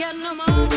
get no money.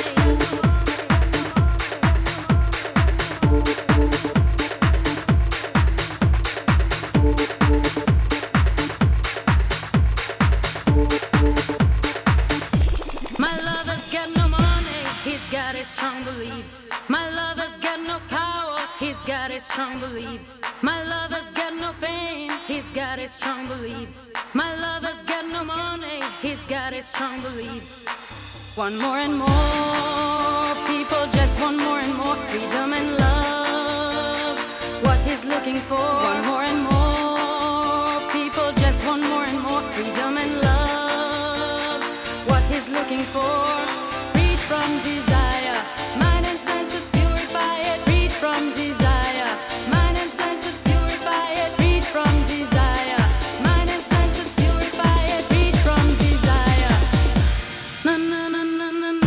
My lover's got no money, he's got his strong beliefs. My lover's got no power, he's got his strong beliefs. My lover's got no fame, he's got his strong beliefs. My lover's got no money, he's got his strong beliefs. One more and more people just want more and more freedom and love. What he's looking for. One more and more people just want more and more freedom and love. What he's looking for. Freed from desire, mind and senses purify it. Freed from desire, mind and senses purify it. Freed from desire, mind and senses purify it. Freed from desire. Na na na na na na.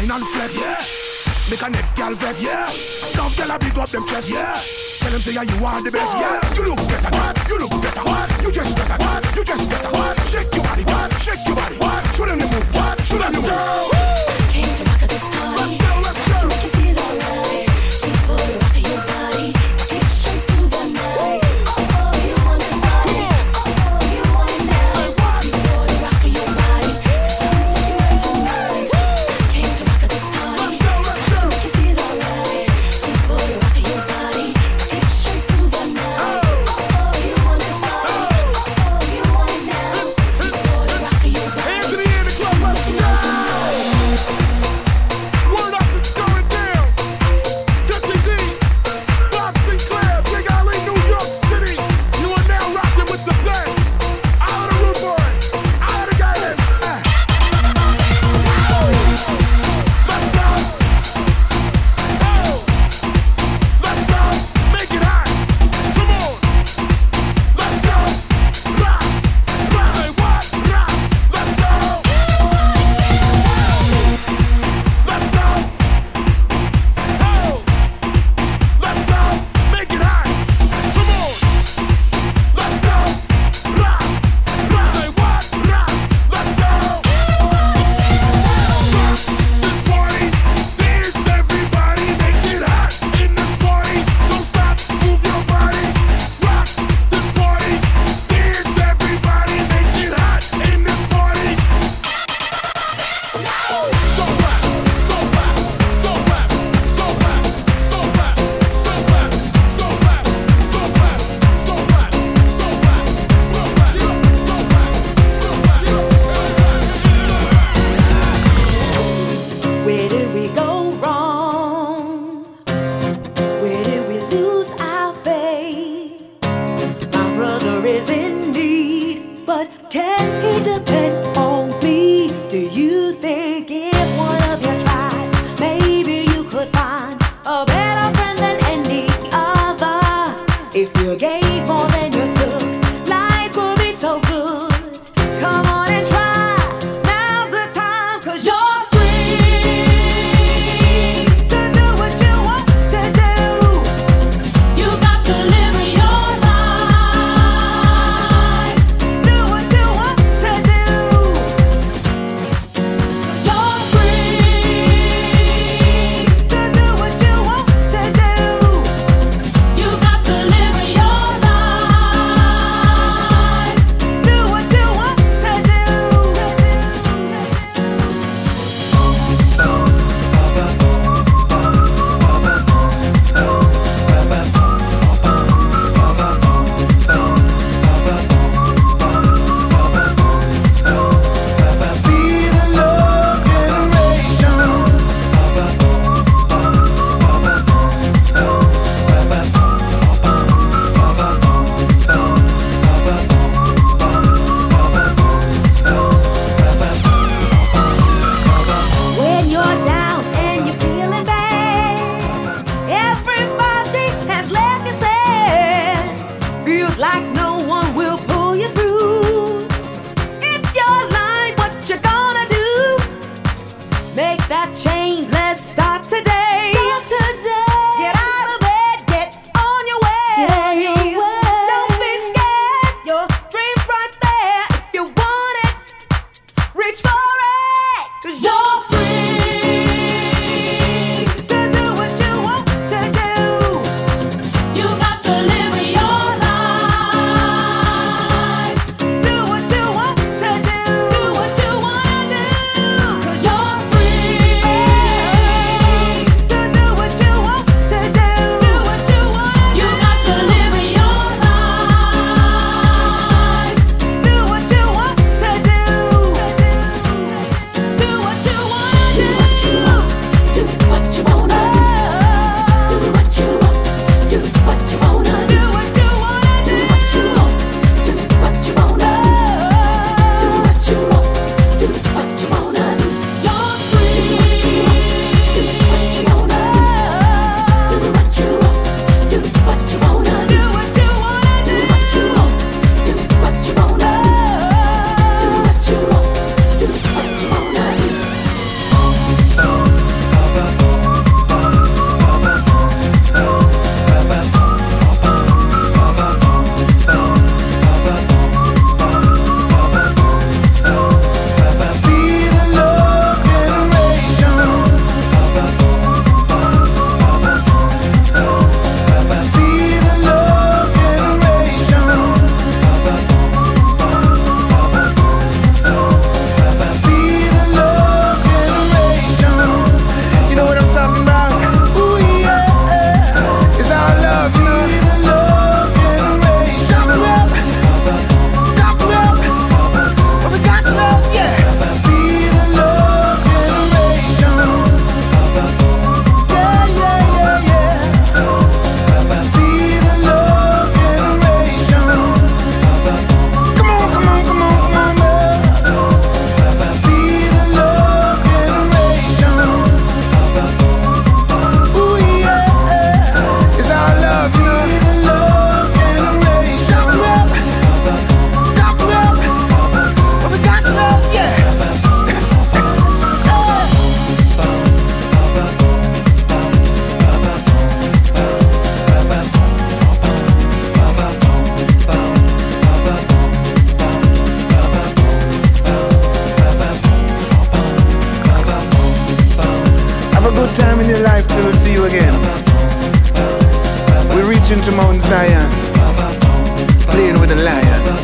wine and flex. Yeah. Make a neck girl vex. Yeah. Love girl a big up them chest. Yeah. Tell them say yeah, you are the best. Yeah. You look better. What? You look better. What? You just better. What? You just better. What? Shake your body. What? Shake your body. What? Show them the move. What? Show them the move. Came to rock at this party. Let's go. Let's go. Make you feel alright. Sweet boy, rock your body. Rock it straight through the night. Oh, you want this body. Oh, you want it now. Sweet boy, rock your body. 'Cause I'm looking right tonight. Came to rock at this party. Let's go. Let's go. Make you feel alright. Sweet boy, rock your body. Rock it straight through the night. Oh, you want this body. Oh, you want it now. Sweet boy, rock your body. Hands in the air, the club, let's go. Word up, it's going down. Jesse D, Bob Sinclair, Big Alley, New York City. You are now rocking with the best. Out of the root boy, out of the guidance. Let's go. Oh, let's go. Make it hot. Come on. Let's go. Rock, rock. Say what? Rock. Let's go. Let's go. Oh, let's go. Make it hot. Come on. Let's go. Rock, rock. Say what? Rock. Let's go. Rock this party. Dance everybody. Make it hot in this party. Don't stop. Move your body. Rock this party. Dance everybody. Make it hot in this party. So rap, so rap, so rap, so rap, so rap, so rap, so rap, so rap, so rap, so rap, so rap, so rap, so rap. Where did we go wrong? Where did we lose our faith? My brother is in need, but can he depend on me? Do you think if one of you tried, maybe you could find a better friend than any other? If you gave more than you took, life would be so good. Come on and try. Now's the time, 'cause you're free to do what you want to do. You got to live your life. Do what you want to do. You're free to do what you want to do. You got to live your life. Do what you want to do. Be the love generation. When you're down and you're feeling bad, everybody has left you sad. Feels like no one will pull you through. It's your life, what you gonna do? Make that change, let's start today. Get out of bed, get on your way. Don't be scared, your dream's right there. If you want it, reach for it, 'cause you're free to do what you want to do. You got to live your life. Do what you want to do. Do what you wanna do, 'cause you're free. time in your life till we see you again. We're reaching to Mount Zion, playing with the lion.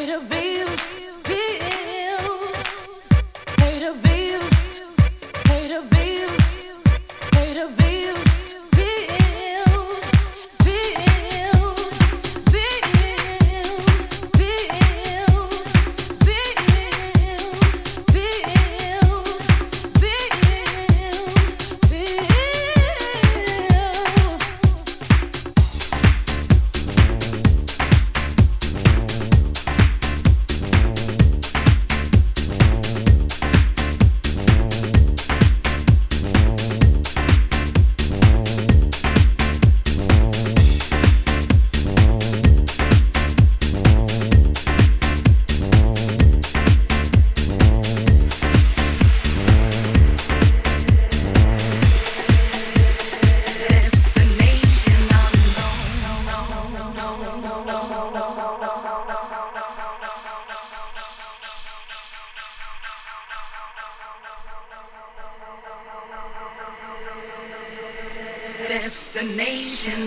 Destination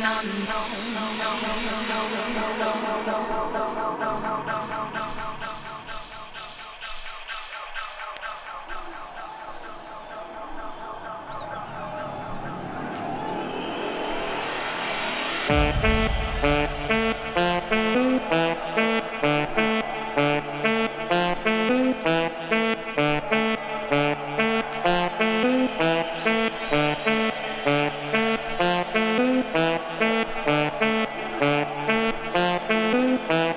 unknown.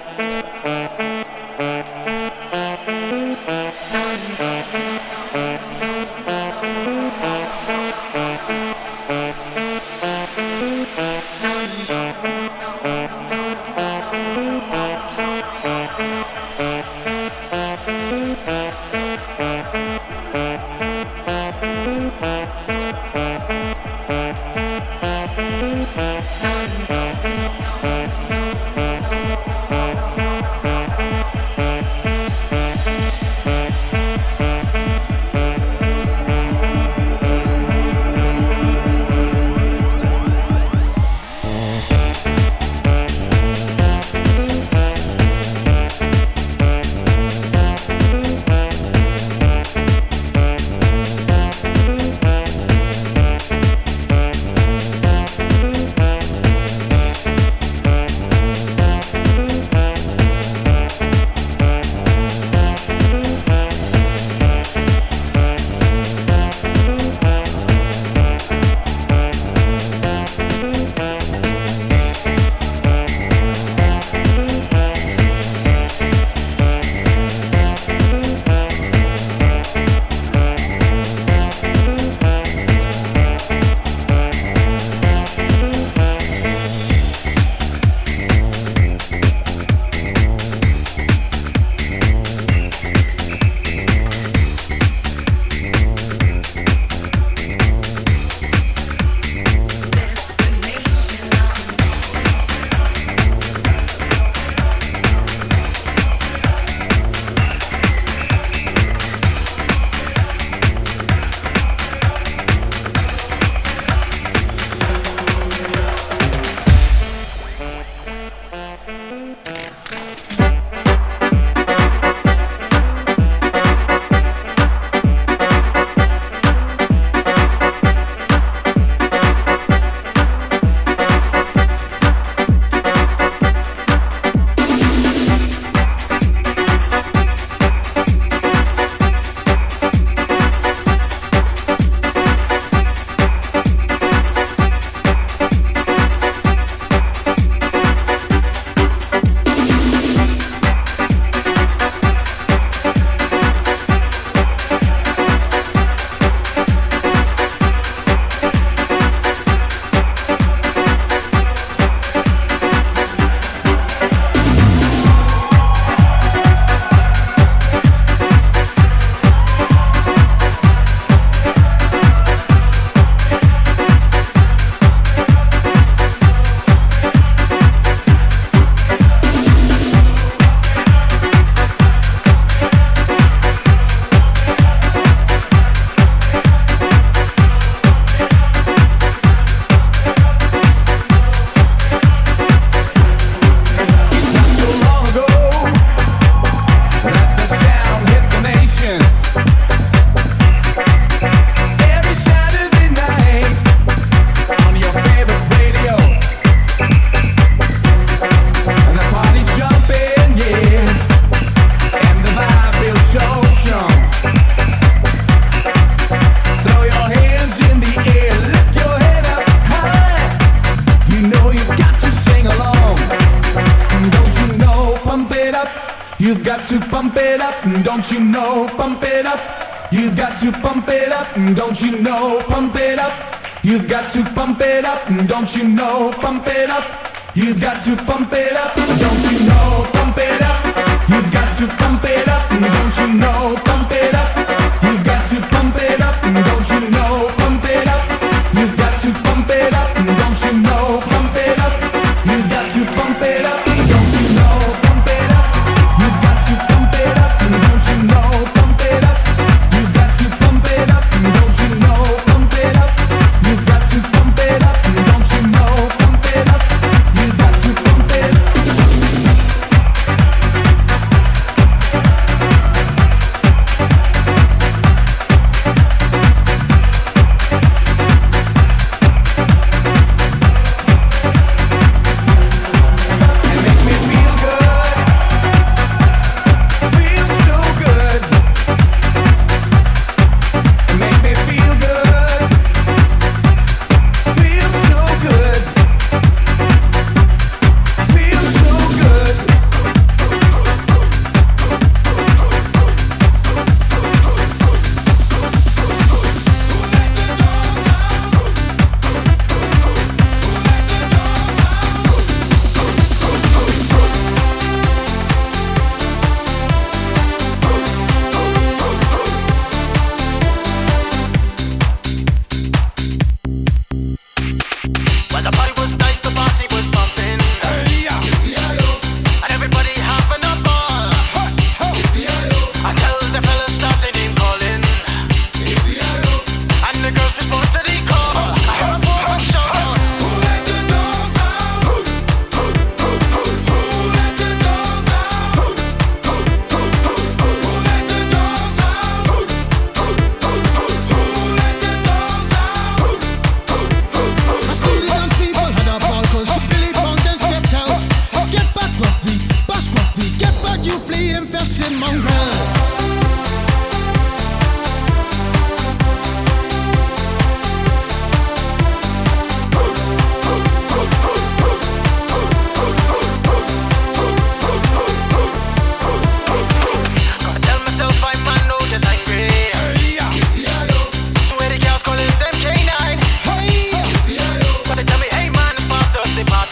up. You've got to pump it up, don't you know? Pump it up. You've got to pump it up, don't you know? Pump it up. You've got to pump it up, don't you know? Pump it up. You've got to pump it up, don't you know? Pump it up. You've got to pump it up, don't you know? Pump it up. You've got to pump it up, don't you know? Pump it up. You've got to pump it up, don't you know? Pump it up. You've got to pump it up, don't you know? Pump it up. You've got to pump it up, don't you know? Pump it up. You've got to pump it up, don't you know? Pump it up. You've got to pump it up, don't you know? Pump it up. You've got to pump it up.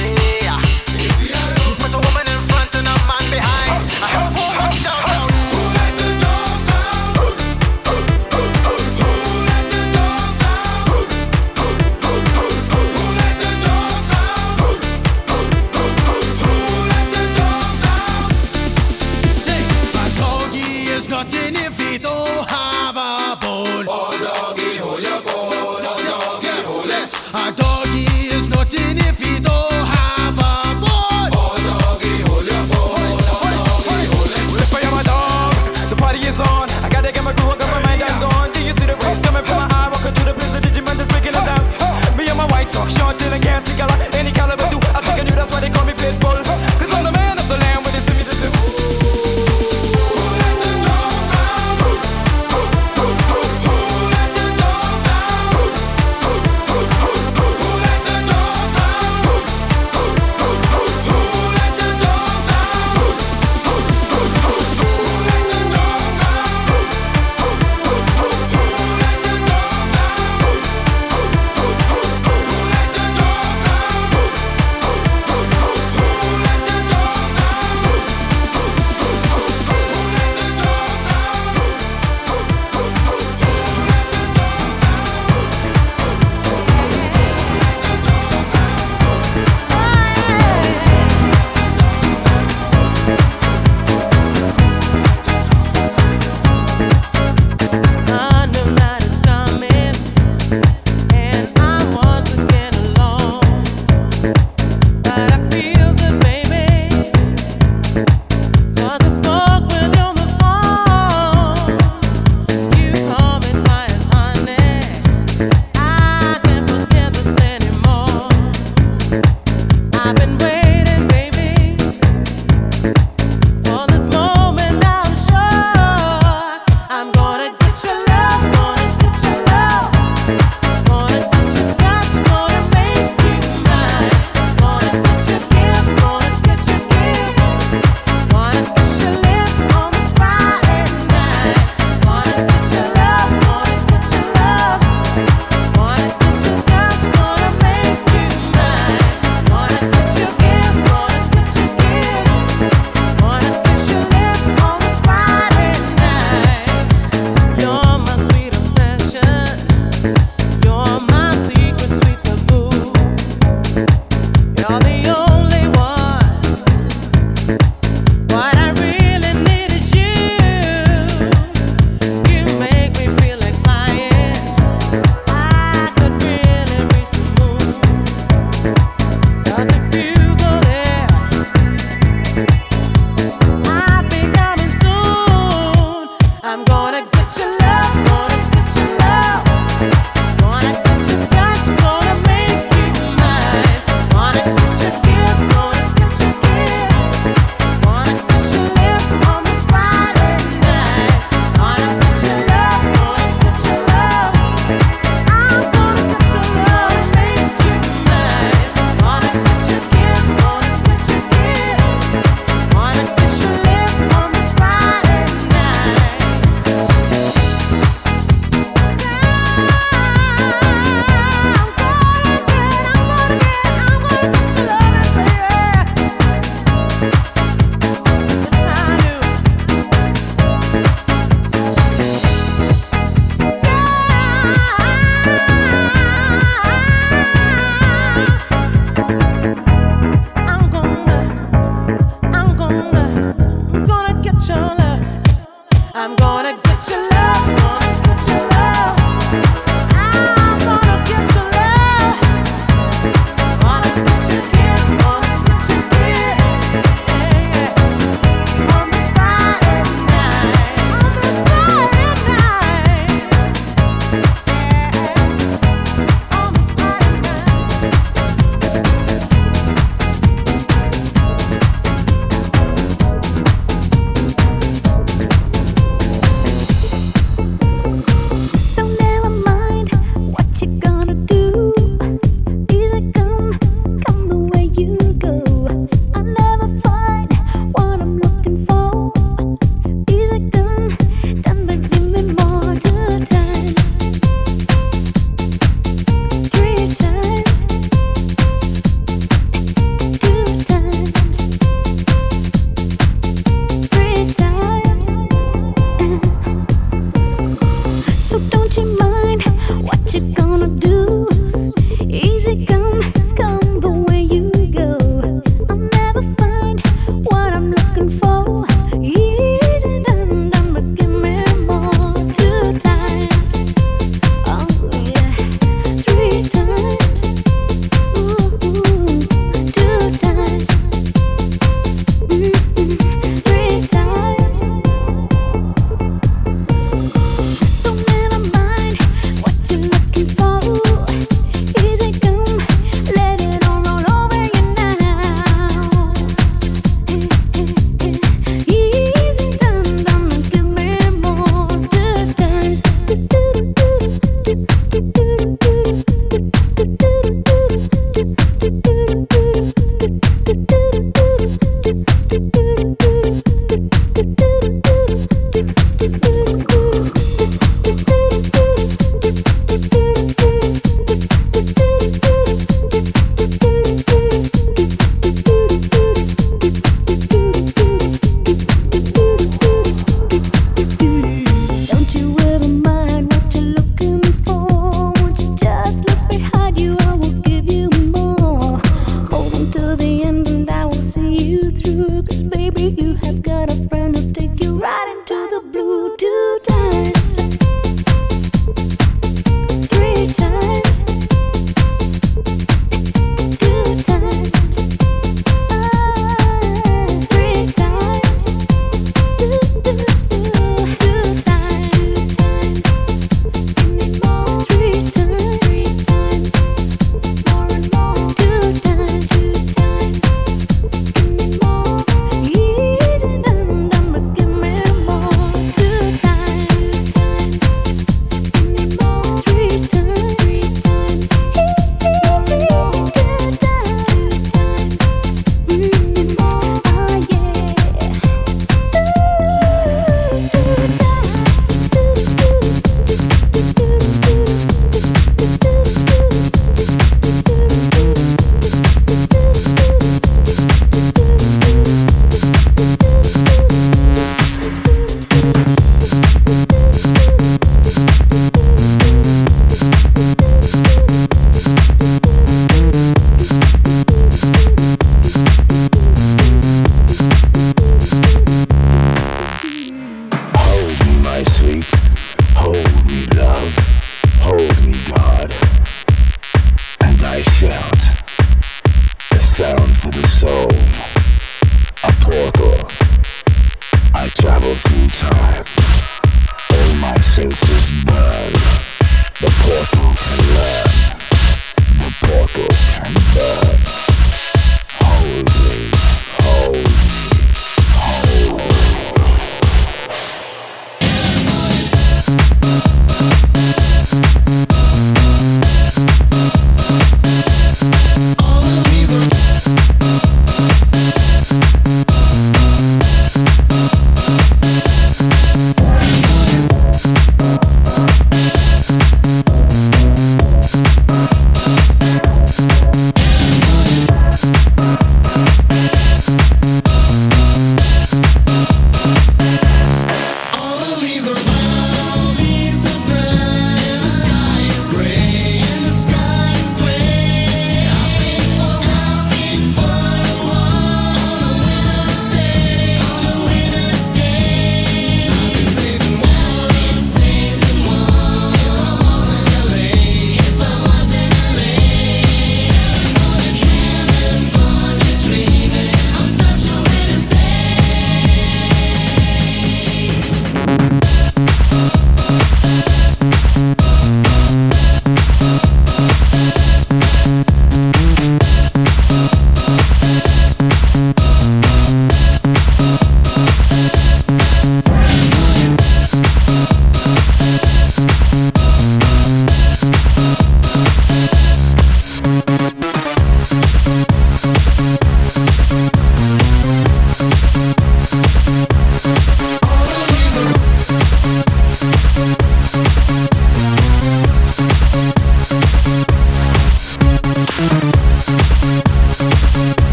Put a woman in front and a man behind. I hope shout out.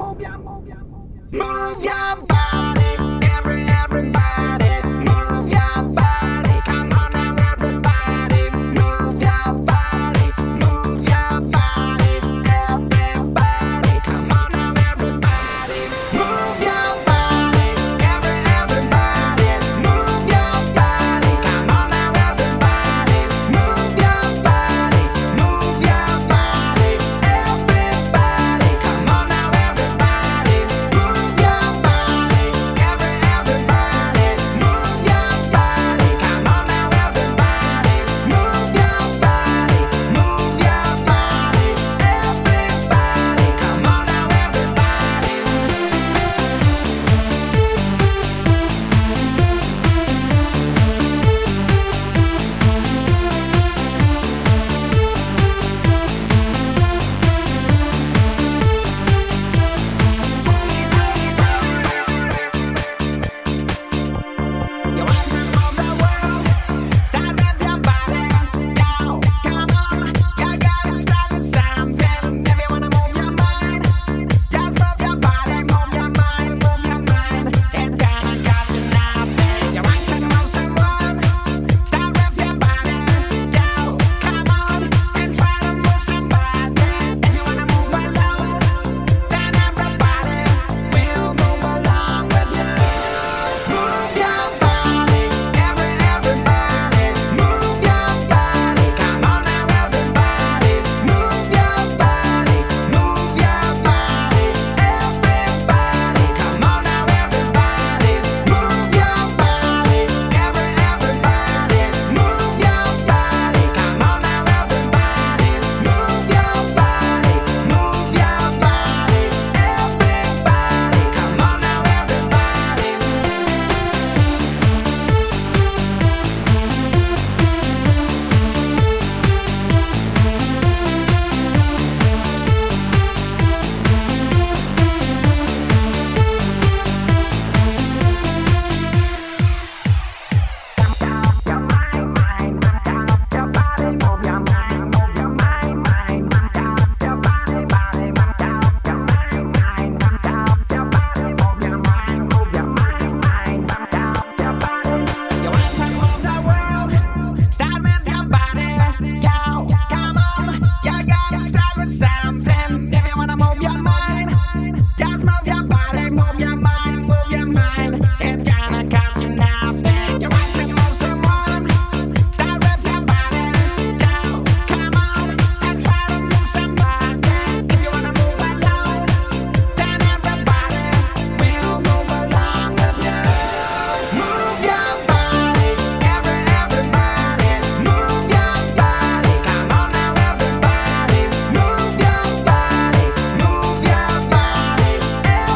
Move your body, everybody, move your body. Come on now, everybody, move your body, move your body, everybody. Come on now, everybody, move your body, everybody, move your body. Come on now, everybody, move your body, move your body, everybody. Come on now, everybody, move your body, everybody, move your body. Come on now, everybody, move your body, move your body, everybody. Come on now, you want to move the world? Start with your body, go, come on. You gotta start with something. If you wanna move your mind, just move your body, move your mind, move your mind. It's gonna cost you nothing. You want to move someone? Start with your body, go, come on, and try to move somebody. If you wanna move alone, then everybody will move along with you. Move your body, everybody, move your body. Come on now, everybody, move your body, move your body, everybody. Come on now, everybody, move your body, everybody, move your body. Come on now, everybody, move your body, move your body, everybody. Come on now, everybody. You want to move the world? Start with your body, go, come on. You gotta start with something. If you wanna move your mind, just move your body, move your mind, move your mind. It's gonna cost you nothing. You want to move someone? Start with your body, go, come on, and try to move somebody. If you wanna move alone, then everybody will move along with you. Move your body, everybody, move your body. Come on now, everybody, move your body, move your body, everybody.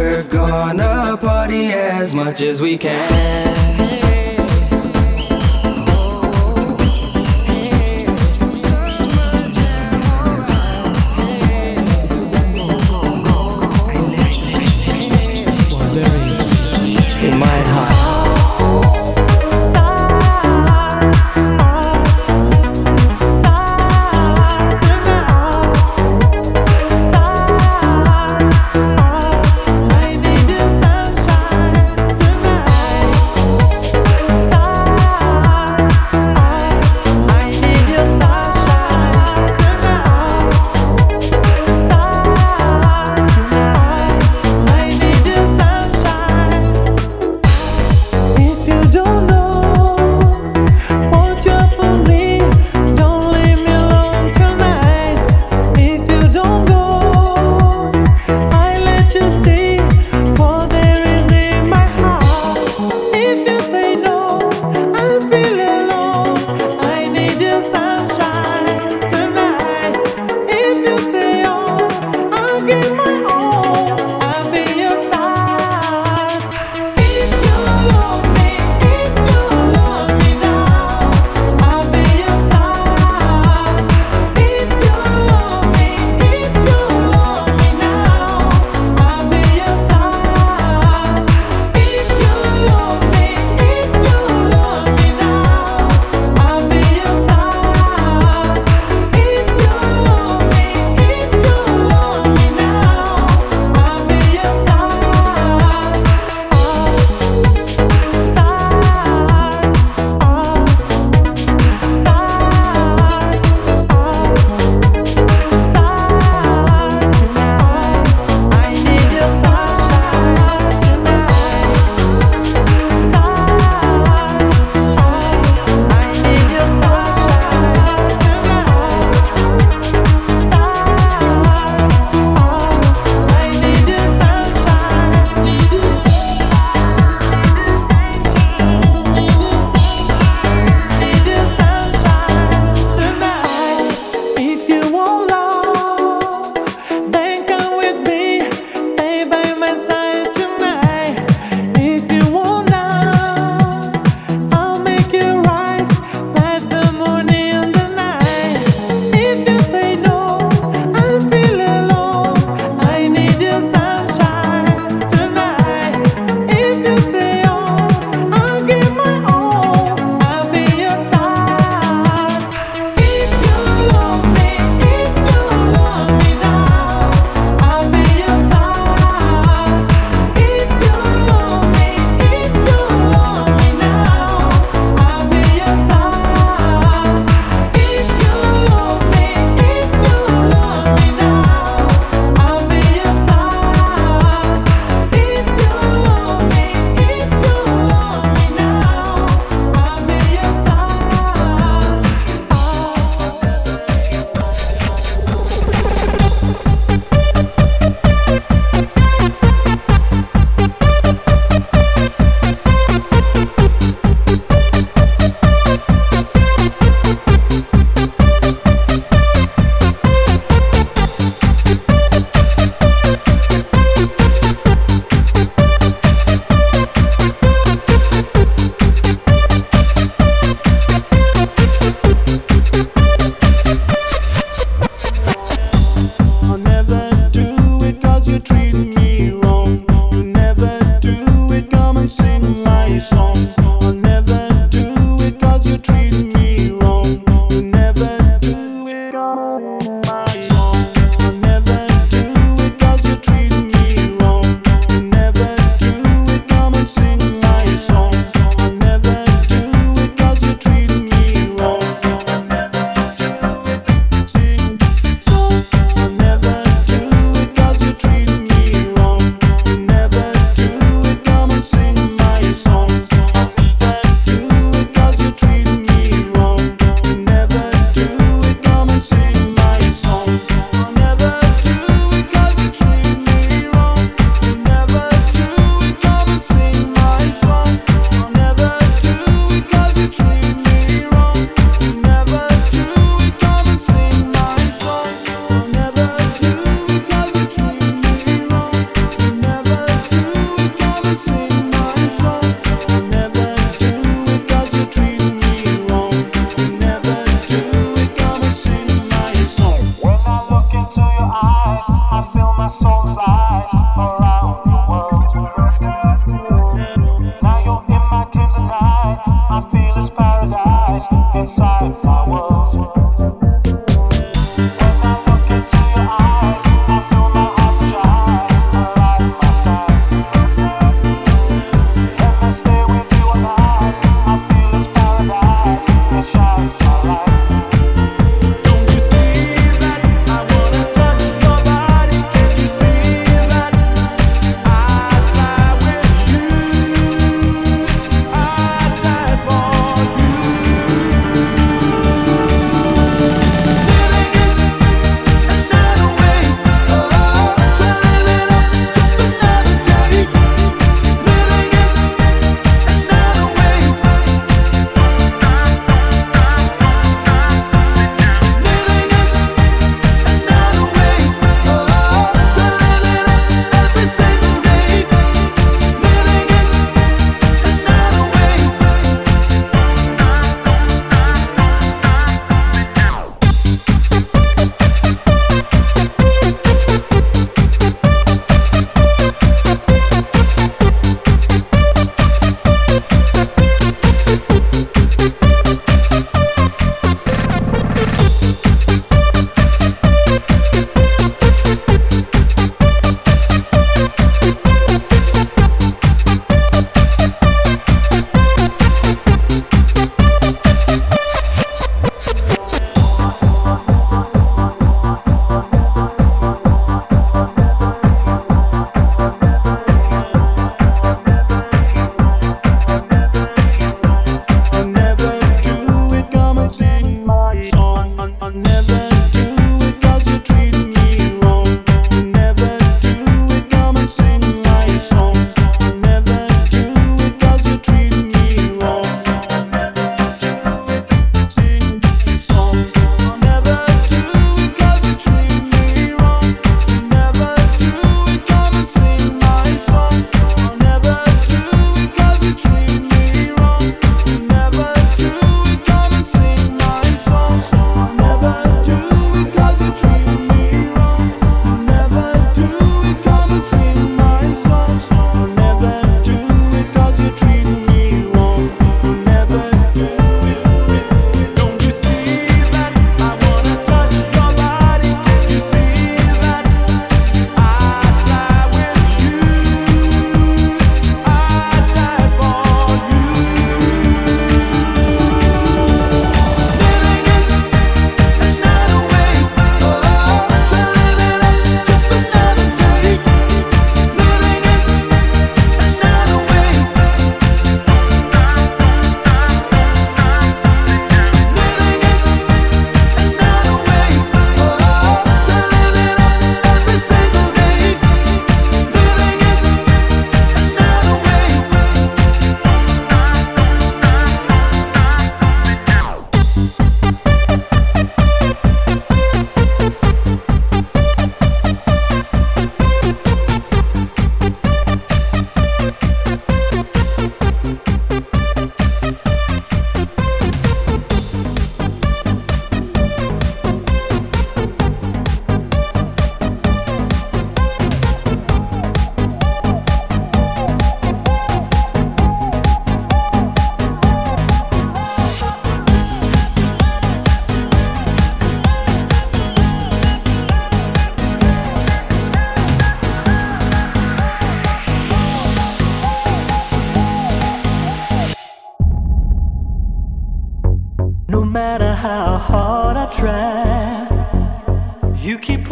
We're gonna party as much as we can. In my heart.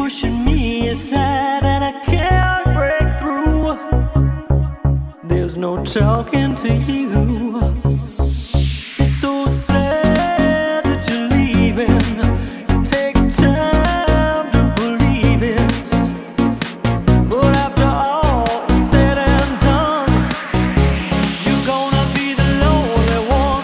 pushing me aside and I can't break through. There's no talking to you. It's so sad that you're leaving. It takes time to believe it. But after all is said and done, you're gonna be the lonely one.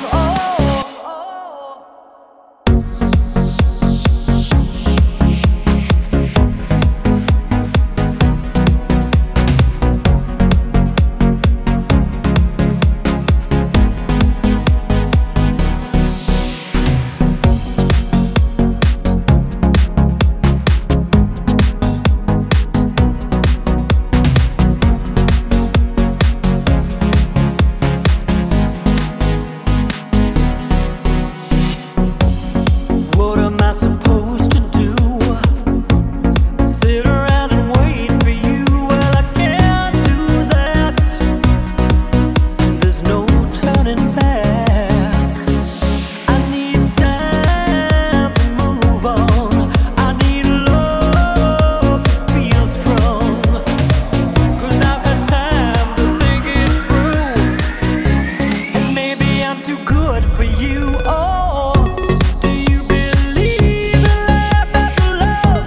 What am I supposed to do? Sit around and wait for you? Well, I can't do that. There's no turning back. I need time to move on. I need love to feel strong. 'Cause I've had time to think it through. And maybe I'm too good for you. Oh, do you believe in life after love?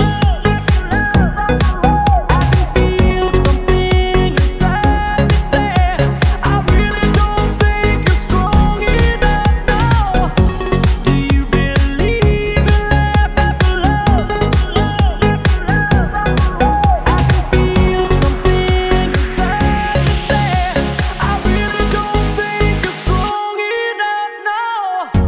I can feel something inside me say, I really don't think you're strong enough now. Do you believe in life after love? I can feel something inside me say, I really don't think you're strong enough now.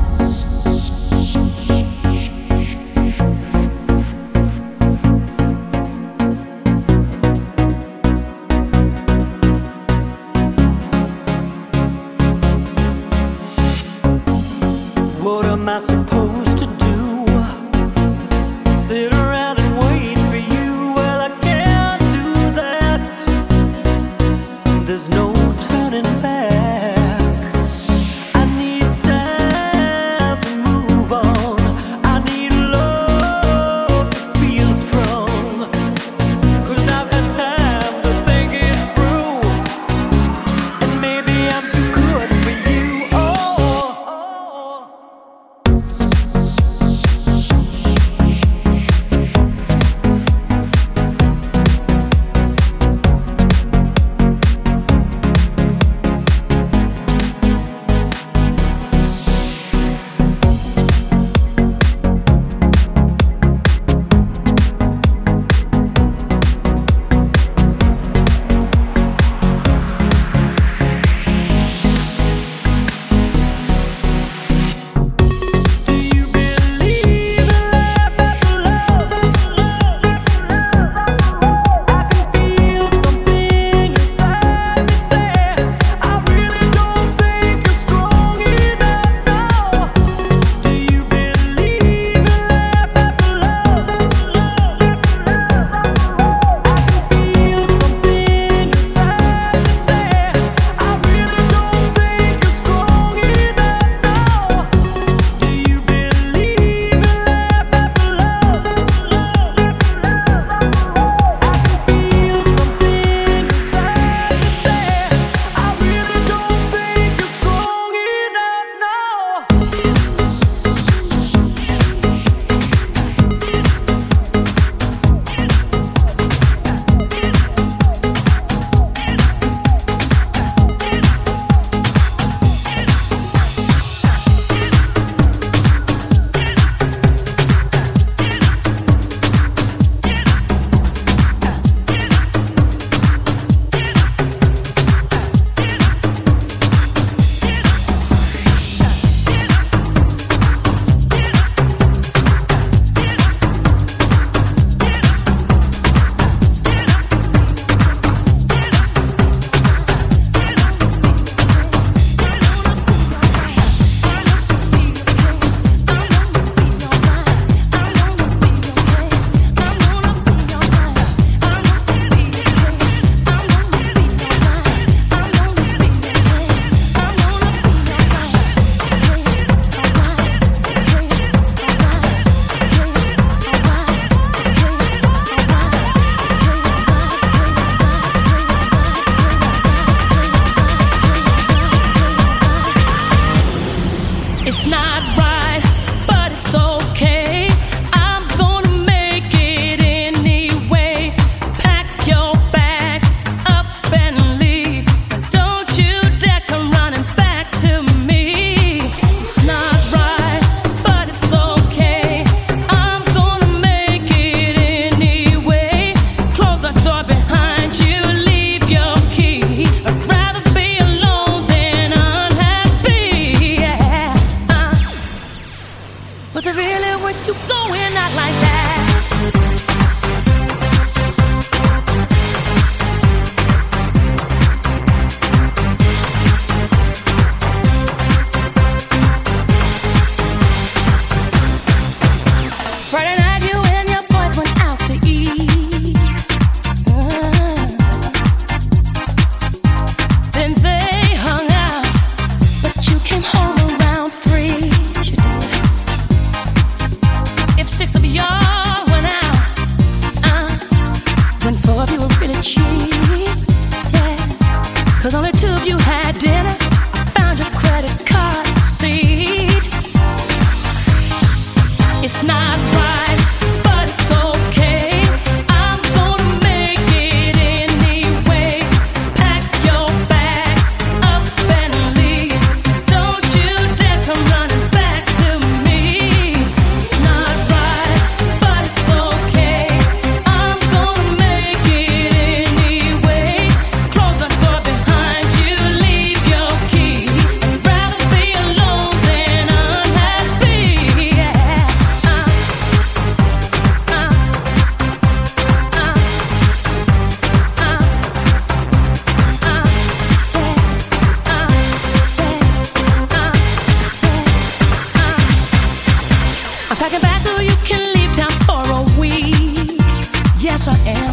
What am I supposed to do? Sit around and wait for you? Well, I can't do that. There's no turning back. I need time to move on. I need love to feel strong. 'Cause I've had time to think it through. And maybe I'm too good for you. Oh. 'cause only two of you had dinner. I found your credit card receipt. It's not right, but it's okay. I'm gonna make it anyway. Pack your bag up and leave. Don't you dare come running back to me. It's not right, but it's okay. I'm gonna make it anyway. Close the door behind you, leave your key. I'd rather be alone than unhappy. I'm packing back so you can leave town for a week. Yes, I am.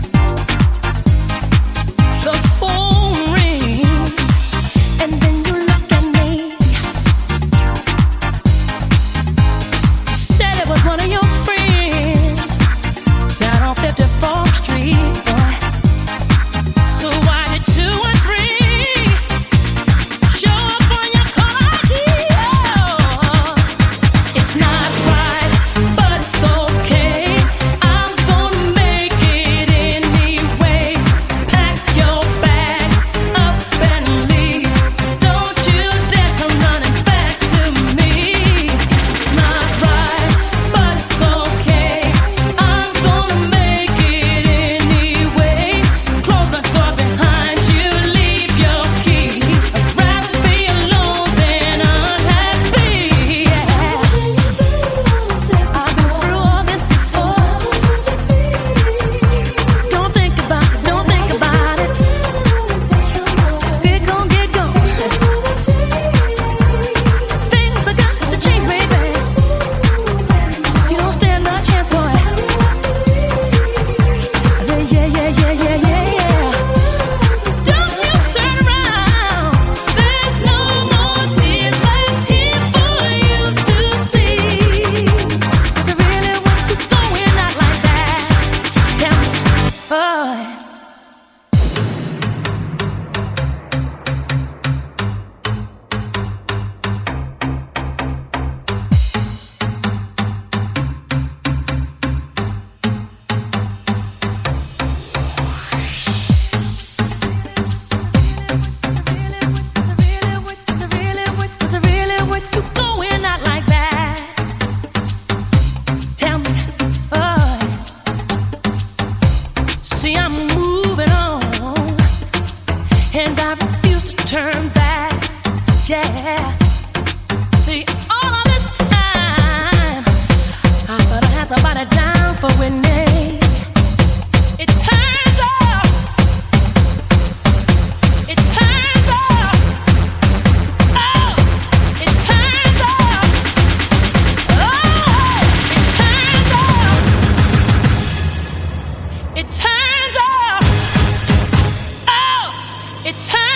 The phone rings, and then you look at me. You said it was one of your friends down on 54th Street. So why did 2 and 3 show up on your call ID? It's not right, but it's okay. I'm gonna make it anyway. Pack your bag up and leave. Don't you dare come running back to me. It's not right, but it's okay. I'm gonna make it anyway. Close the door behind you, leave your key. I'd rather be alone than unhappy. I've been through all this before. Don't think about it, don't think about it. Get gone, get gone. Things are got to change, baby. You don't stand a chance, boy. I say, yeah, yeah, yeah, yeah, yeah, yeah. Don't you turn around. There's no more tears left here for you to see. Is it really worth you going out like that? Tell me, boy. Was it really worth you going out like that? Tell me, boy. See, I'm moving on, and I refuse to turn back. Yeah. See, all of this time, I thought I had somebody down for winning. It turns out, it turns out, oh, it turns out, oh, it turns out, it turns out, oh, it turns